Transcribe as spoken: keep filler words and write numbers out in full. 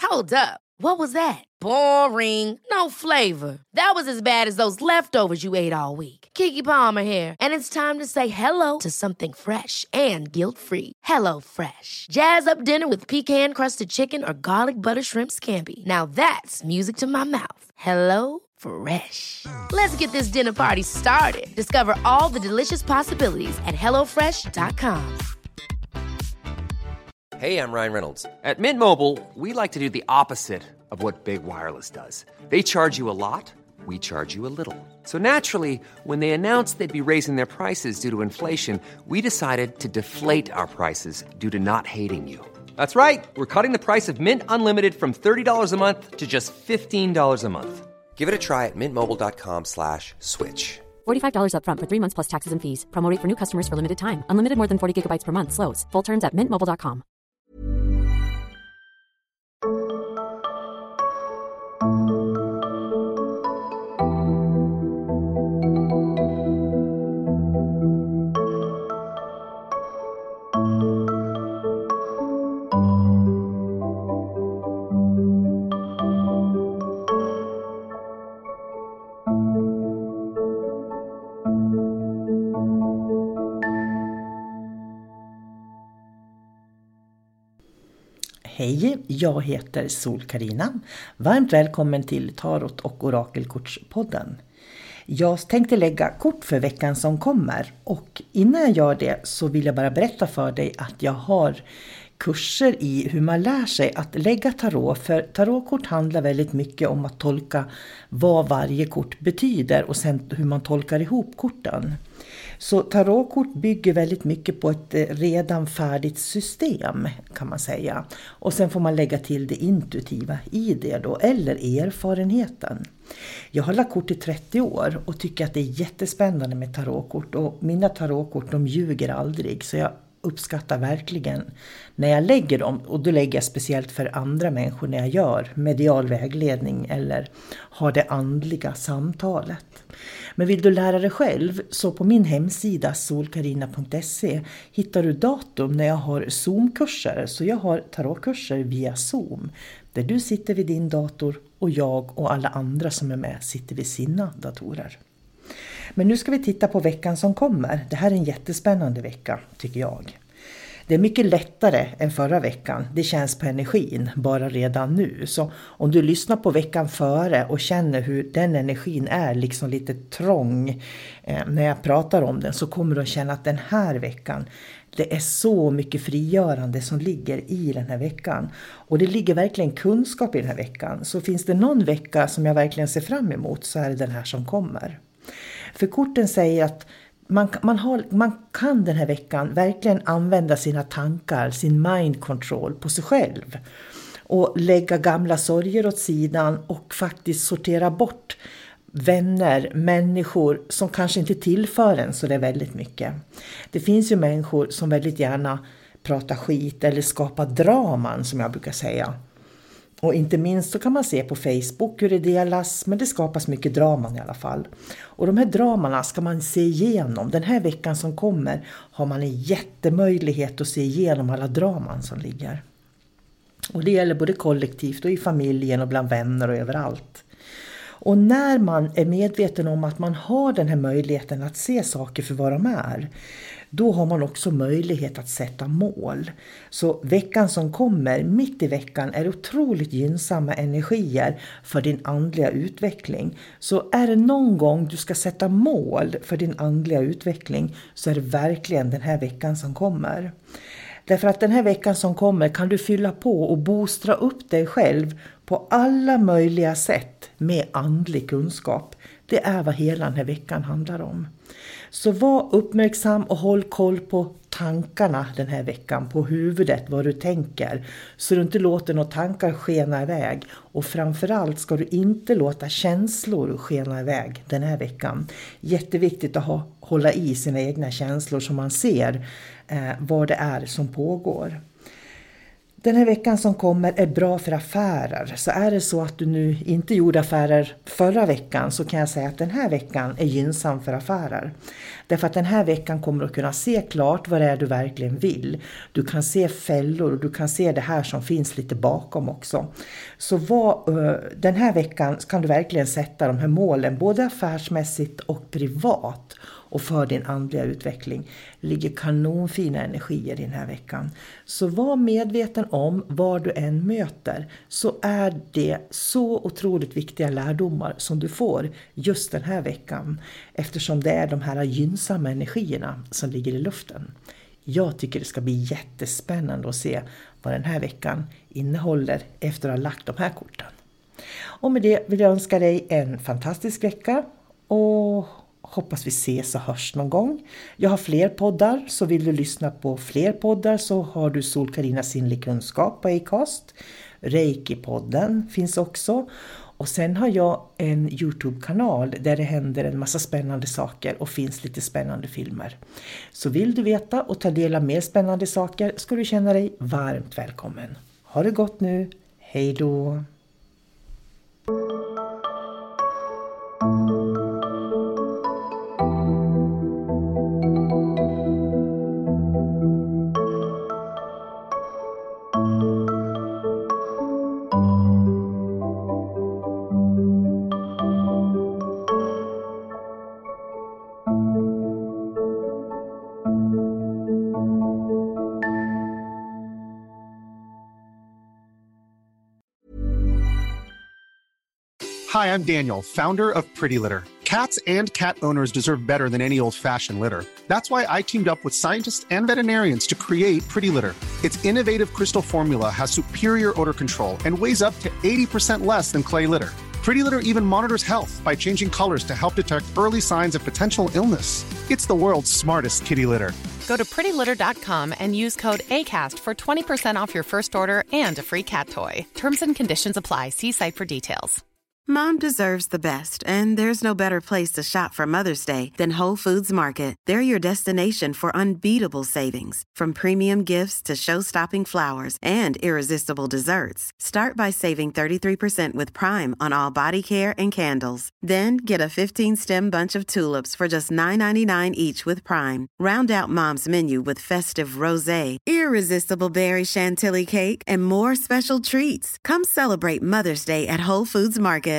Hold up. What was that? Boring. No flavor. That was as bad as those leftovers you ate all week. Keke Palmer here, and it's time to say hello to something fresh and guilt-free. Hello Fresh. Jazz up dinner with pecan-crusted chicken or garlic butter shrimp scampi. Now that's music to my mouth. Hello Fresh. Let's get this dinner party started. Discover all the delicious possibilities at hello fresh dot com. Hey, I'm Ryan Reynolds. At Mint Mobile, we like to do the opposite of what Big Wireless does. They charge you a lot, we charge you a little. So naturally, when they announced they'd be raising their prices due to inflation, we decided to deflate our prices due to not hating you. That's right. We're cutting the price of Mint Unlimited from thirty dollars a month to just fifteen dollars a month. Give it a try at mintmobile.com slash switch. forty-five dollars up front for three months plus taxes and fees. Promo rate for new customers for limited time. Unlimited more than forty gigabytes per month. Slows full terms at mint mobile dot com. Hej, jag heter Sol-Carina. Varmt välkommen till Tarot- och Orakelkortspodden. Jag tänkte lägga kort för veckan som kommer, och innan jag gör det så vill jag bara berätta för dig att jag har kurser i hur man lär sig att lägga tarot. För tarotkort handlar väldigt mycket om att tolka vad varje kort betyder och sen hur man tolkar ihop korten. Så tarotkort bygger väldigt mycket på ett redan färdigt system, kan man säga. Och sen får man lägga till det intuitiva i det då, eller erfarenheten. Jag har lagt kort i trettio år och tycker att det är jättespännande med tarotkort. Och mina tarotkort, de ljuger aldrig, så jag uppskattar verkligen när jag lägger dem. Och då lägger jag speciellt för andra människor när jag gör medial vägledning eller har det andliga samtalet. Men vill du lära dig själv, så på min hemsida solkarina punkt se hittar du datum när jag har Zoom-kurser. Så jag har tarotkurser via Zoom, där du sitter vid din dator och jag och alla andra som är med sitter vid sina datorer. Men nu ska vi titta på veckan som kommer. Det här är en jättespännande vecka, tycker jag. Det är mycket lättare än förra veckan. Det känns på energin bara redan nu. Så om du lyssnar på veckan före och känner hur den energin är liksom lite trång eh, när jag pratar om den, så kommer du att känna att den här veckan, det är så mycket frigörande som ligger i den här veckan. Och det ligger verkligen kunskap i den här veckan. Så finns det någon vecka som jag verkligen ser fram emot, så är det den här som kommer. För korten säger att man, man, har, man kan den här veckan verkligen använda sina tankar, sin mind control på sig själv. Och lägga gamla sorger åt sidan och faktiskt sortera bort vänner, människor som kanske inte tillför en så det är väldigt mycket. Det finns ju människor som väldigt gärna pratar skit eller skapar draman, som jag brukar säga. Och inte minst så kan man se på Facebook hur det delas, men det skapas mycket draman i alla fall. Och de här dramarna ska man se igenom. Den här veckan som kommer har man en jättemöjlighet att se igenom alla draman som ligger. Och det gäller både kollektivt och i familjen och bland vänner och överallt. Och när man är medveten om att man har den här möjligheten att se saker för vad de är, då har man också möjlighet att sätta mål. Så veckan som kommer, mitt i veckan, är otroligt gynnsamma energier för din andliga utveckling. Så är det någon gång du ska sätta mål för din andliga utveckling, så är det verkligen den här veckan som kommer. Därför att den här veckan som kommer kan du fylla på och boostra upp dig själv på alla möjliga sätt med andlig kunskap. Det är vad hela den här veckan handlar om. Så var uppmärksam och håll koll på tankarna den här veckan, på huvudet, vad du tänker, så du inte låter några tankar skena iväg. Och framförallt ska du inte låta känslor skena iväg den här veckan. Jätteviktigt att ha, hålla i sina egna känslor så man ser eh, vad det är som pågår. Den här veckan som kommer är bra för affärer. Så är det så att du nu inte gjorde affärer förra veckan, så kan jag säga att den här veckan är gynnsam för affärer. Därför att den här veckan kommer du att kunna se klart vad det är du verkligen vill. Du kan se fällor och du kan se det här som finns lite bakom också. Så vad, den här veckan kan du verkligen sätta de här målen både affärsmässigt och privat. Och för din andliga utveckling ligger kanonfina energier i den här veckan. Så var medveten om vad du än möter, så är det så otroligt viktiga lärdomar som du får just den här veckan. Eftersom det är de här gynnsamma energierna som ligger i luften. Jag tycker det ska bli jättespännande att se vad den här veckan innehåller efter att ha lagt de här korten. Och med det vill jag önska dig en fantastisk vecka och hoppas vi ses och hörs någon gång. Jag har fler poddar, så vill du lyssna på fler poddar så har du Sol-Karina Sinnlig Kunskap på Acast. Reiki-podden finns också. Och sen har jag en YouTube-kanal där det händer en massa spännande saker och finns lite spännande filmer. Så vill du veta och ta del av mer spännande saker ska du känna dig varmt välkommen. Ha det gott nu. Hej då! Hi, I'm Daniel, founder of Pretty Litter. Cats and cat owners deserve better than any old-fashioned litter. That's why I teamed up with scientists and veterinarians to create Pretty Litter. Its innovative crystal formula has superior odor control and weighs up to eighty percent less than clay litter. Pretty Litter even monitors health by changing colors to help detect early signs of potential illness. It's the world's smartest kitty litter. Go to pretty litter dot com and use code ACAST for twenty percent off your first order and a free cat toy. Terms and conditions apply. See site for details. Mom deserves the best, and there's no better place to shop for Mother's Day than Whole Foods Market. They're your destination for unbeatable savings, from premium gifts to show-stopping flowers and irresistible desserts. Start by saving thirty-three percent with Prime on all body care and candles. Then get a fifteen-stem bunch of tulips for just nine ninety-nine each with Prime. Round out Mom's menu with festive rosé, irresistible berry chantilly cake, and more special treats. Come celebrate Mother's Day at Whole Foods Market.